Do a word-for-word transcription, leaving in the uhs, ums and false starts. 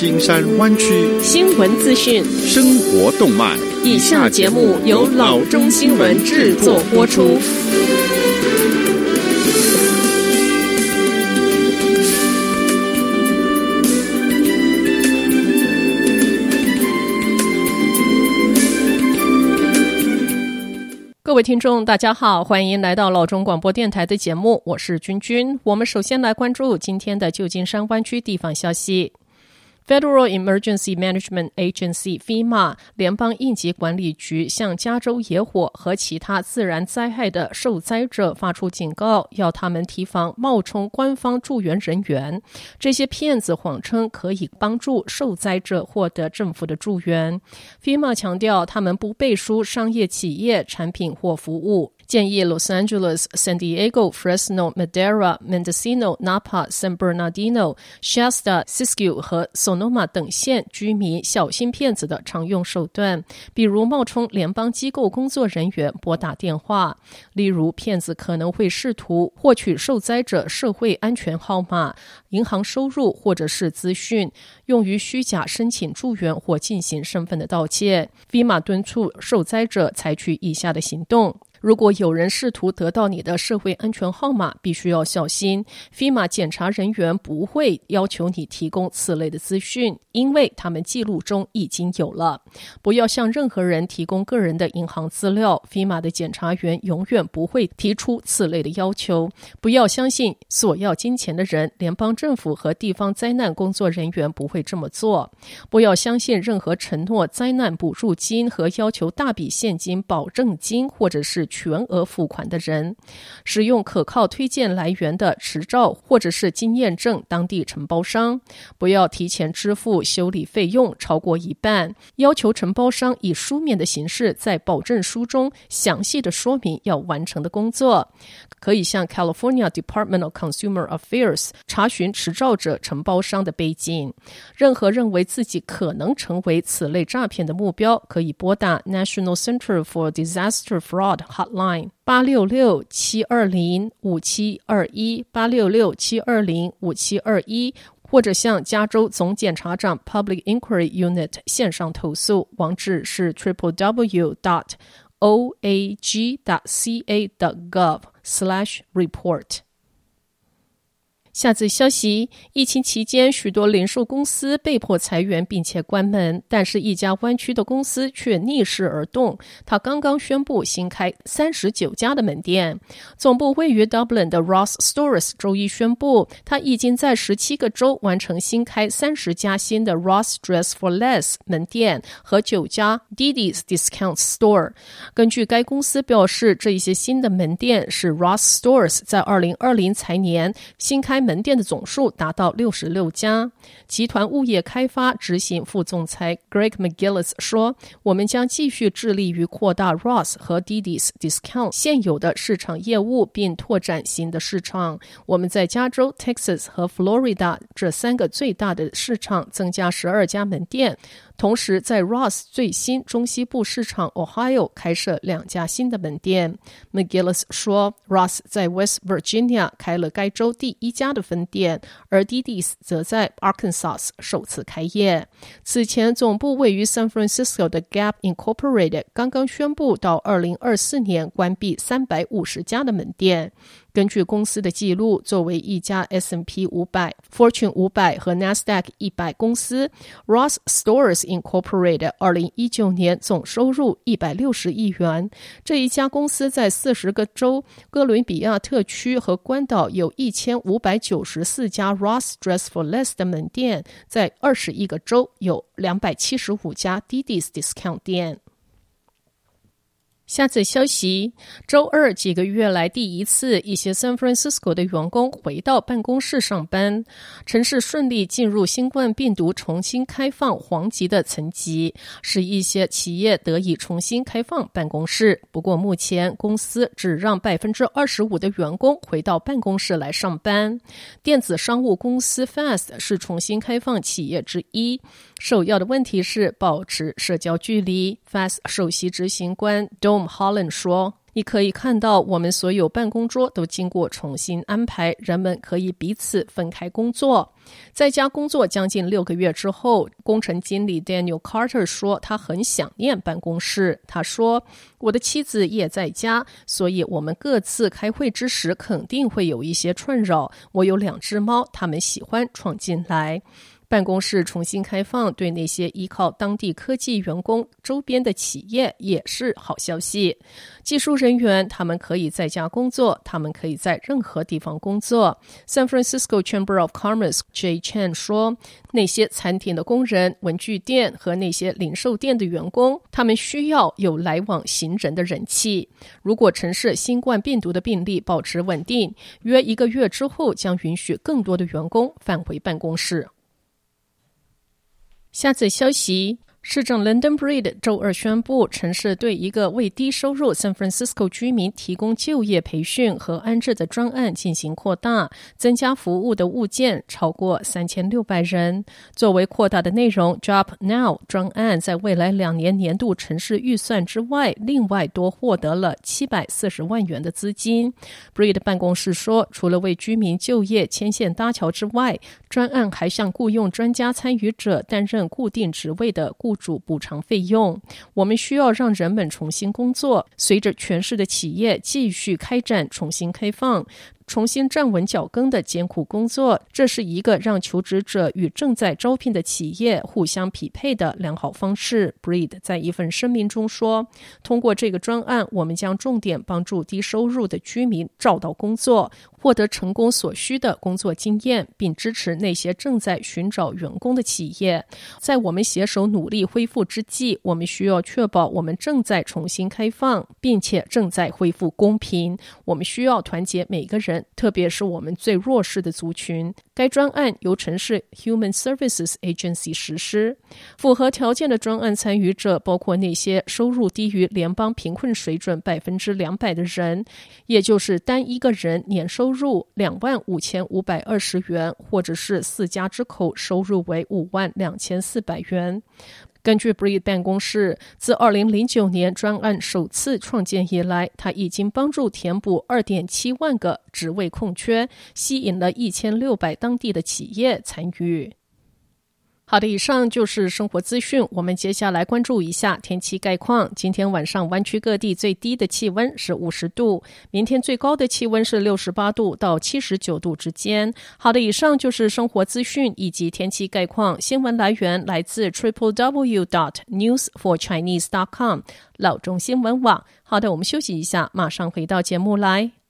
金山灣區新聞資訊、 生活動脈。 以下節目由老中新聞製作播出。各位聽眾大家好，歡迎來到老中廣播電臺的節目，我是君君。我們首先來關注今天的舊金山灣區地方消息。Federal Emergency Management Agency FEMA 聯邦應急管理局向加州野火和其他自然災害的受災者發出警告，要他們提防冒充官方助援人員。這些騙子謊稱可以幫助受災者獲得政府的助援。FEMA 強調他們不背書商業企業產品或服務，建議 Los Angeles、San Diego、Fresno、Medera、Mendocino、Napa、San Bernardino、Shasta、Siskiyou 和 Sonoma 等縣居民小心騙子的常用手段，比如冒充聯邦機構工作人員撥打電話。例如，騙子可能會試圖獲取受災者社會安全號碼、銀行收入或者是資訊，用於虛假申請助援或進行身份的盜竊。FEMA 敦促受災者採取以下的行動。如果有人試圖得到你的社會安全號碼，必須要小心。FEMA 檢查人員不會要求你提供此類的資訊，因為他們記錄中已經有了。不要向任何人提供個人的銀行資料， FEMA 的檢查員永遠不會提出此類的要求。不要相信索要金錢的人，聯邦政府和地方災難工作人員不會這麼做。不要相信任何承諾災難補助金和要求大筆現金保證金或者是全額付款的人。使用可靠推薦來源的執照或者是經驗證當地承包商。不要提前支付修理費用超過一半。要求承包商以書面的形式在保證書中詳細的說明要完成的工作。可以向 California Department of Consumer Affairs 查詢持照者承包商的背景。任何認為自己可能成為此類詐騙的目標，可以撥打 National Center for Disaster Fraud Hotline 八六六七二零五七二一 八六六七二零五七二一，或者向加州總檢察長 Public Inquiry Unit 線上投訴，網址是 double-u double-u double-u dot o a g dot c a dot gov slash report。下則消息，疫情期間許多零售公司被迫裁員並且關門，但是一家灣區的公司卻逆勢而動，他剛剛宣布新開三十九家的門店。總部位於 Dublin 的 Ross Stores 周一宣布，他已經在十七個州完成新開三十家新的 Ross Dress for Less 門店和九家 Didi's Discount Store。根據該公司表示，這一些新的門店是 Ross Stores 在二零二零財年新開門店的總數達到六十六家。集團物業開發執行副總裁 Greg McGillis 說，我們將繼續致力於擴大 Ross 和 Didi's Discount 現有的市場業務，並拓展新的市場。我們在加州、Texas 和 Florida 這三個最大的市場增加十二家門店，同時在 Ross 最新中西部市場 Ohio 開設兩家新的門店。McGillis 說， Ross 在 West Virginia 開了該州第一家的分店，而 Didi's 則在 Arkansas 首次開業。此前，總部位於 San Francisco 的 Gap Incorporated 剛剛宣布到二零二四年關閉三百五十家的門店。根據公司的記錄，作為一家 S and P 五百、Fortune 五百和 NASDAQ 一百公司， Ross Stores Incorporated 二零一九年總收入一百六十億元。這一家公司在四十個州、哥倫比亞特區和關島有一千五百九十四家 Ross Dress for Less 的門店，在二十一個州有兩百七十五家 Didi's Discount 店。下則消息，週二幾個月來第一次，一些 San Francisco 的員工回到辦公室上班。城市順利進入新冠病毒重新開放黃級的層級，使一些企業得以重新開放辦公室。不過目前公司只讓 百分之二十五 的員工回到辦公室來上班。電子商務公司 Fast 是重新開放企業之一，首要的問題是保持社交距離。Fast 首席執行官 Dom Holland 說， 你可以看到，我們所有辦公桌都經過重新安排，人們可以彼此分開工作。在家工作將近六個月之後，工程經理 Daniel Carter 說他很想念辦公室。他說，我的妻子也在家，所以我們各自開會之時肯定會有一些困擾。我有兩隻貓，它們喜歡闖進來。辦公室重新開放對那些依靠當地科技員工周邊的企業也是好消息。技術人員他們可以在家工作，他們可以在任何地方工作。San Francisco Chamber of Commerce Jay Chen 說，那些餐廳的工人、文具店和那些零售店的員工，他們需要有來往行人的人氣。如果城市新冠病毒的病例保持穩定，約一個月之後將允許更多的員工返回辦公室。下則消息，市長 London Breed 週二宣布，城市對一個為低收入 San Francisco 居民提供就業培訓和安置的專案進行擴大，增加服務的物件超過三千六百人。作為擴大的內容 ，Job Now 專案在未來兩年年度城市預算之外，另外多獲得了七百四十萬元的資金。Breed 辦公室說，除了為居民就業牽線搭橋之外，專案還向僱用專家參與者擔任固定職位的雇主補償費用。我們需要讓人們重新工作，隨着全市的企業繼續開展重新開放，重新站穩腳跟的艱苦工作，這是一個讓求職者與正在招聘的企業互相匹配的良好方式。Breed 在一份聲明中說，通過這個專案，我們將重點幫助低收入的居民找到工作，獲得成功所需的工作經驗，並支持那些正在尋找員工的企業。在我們攜手努力恢復之際，我們需要確保我們正在重新開放，並且正在恢復公平。我們需要團結每個人，特別是我們最弱勢的族群。該專案由城市 Human Services Agency 實施。符合條件的專案參與者包括那些收入低於聯邦貧困水準百分之兩百的人，也就是單一個人年收入兩萬五千五百二十元，或者是四家之口收入為五萬兩千四百元。根據 Breed 辦公室，自二零零九年專案首次創建以來，他已經幫助填補 二點七萬個職位空缺，吸引了一千六百當地的企業參與。好的，以上就是生活資訊。我們接下來關注一下天氣概況。今天晚上灣區各地最低的氣溫是五十度，明天最高的氣溫是六十八度到七十九度之間。好的，以上就是生活資訊以及天氣概況。新聞來源來自 triple w dot news for chinese dot com 老中新聞網。好的，我們休息一下，馬上回到節目來。